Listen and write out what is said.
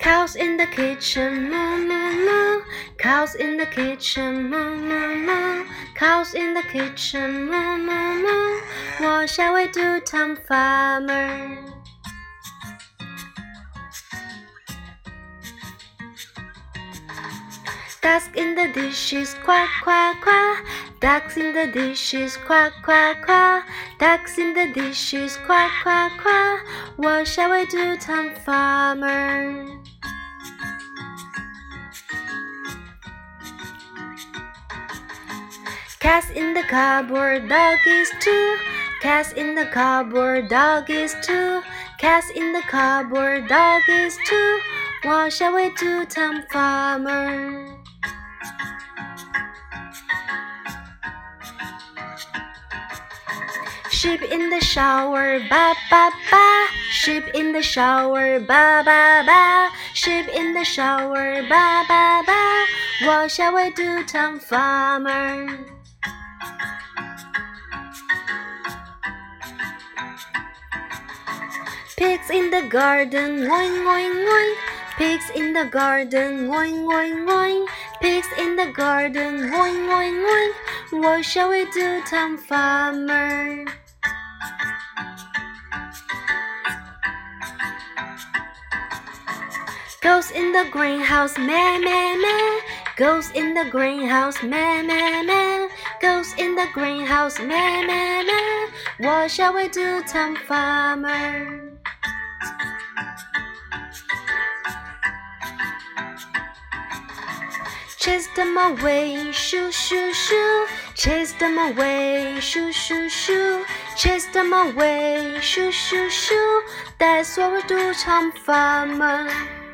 Cows in the kitchen, moo moo moo. Cows in the kitchen, moo moo moo. Cows in the kitchen, moo moo moo. What shall we do, Tom Farmer? Ducks in the dishes, quack quack quack. Ducks in the dishes, quack quack quack. Ducks in the dishes, quack quack quack. What shall we do, Tom Farmer? Cats in the cupboard, doggies too. Cats in the cupboard, doggies too. Cats in the cupboard, doggies too. What shall we do, Tom Farmer? Sheep in the shower, ba ba ba. Sheep in the shower, ba ba ba. Sheep in the shower, ba ba ba. What shall we do, Tom Farmer? Pigs in the garden, oink oink oink. Pigs in the garden, oink oink oink. Pigs in the garden, oink oink oink. What shall we do, Tom Farmer? Goes in the greenhouse, meh meh meh. Goes in the greenhouse, meh meh meh. Goes in the greenhouse, meh meh meh. What shall we do, Tom Farmer? Chase them away, shoo shoo shoo. Chase them away, shoo shoo shoo. Chase them away, shoo shoo shoo. That's what we do, Tom Farmer.